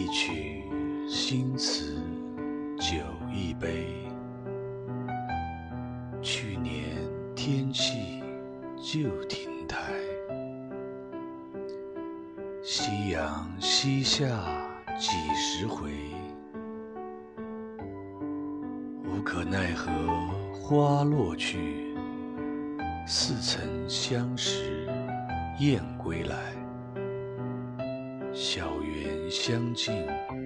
曲新词酒一杯，去年天气旧亭台，夕阳西下几时回？无可奈何花落去，似曾相识燕归来。小园香径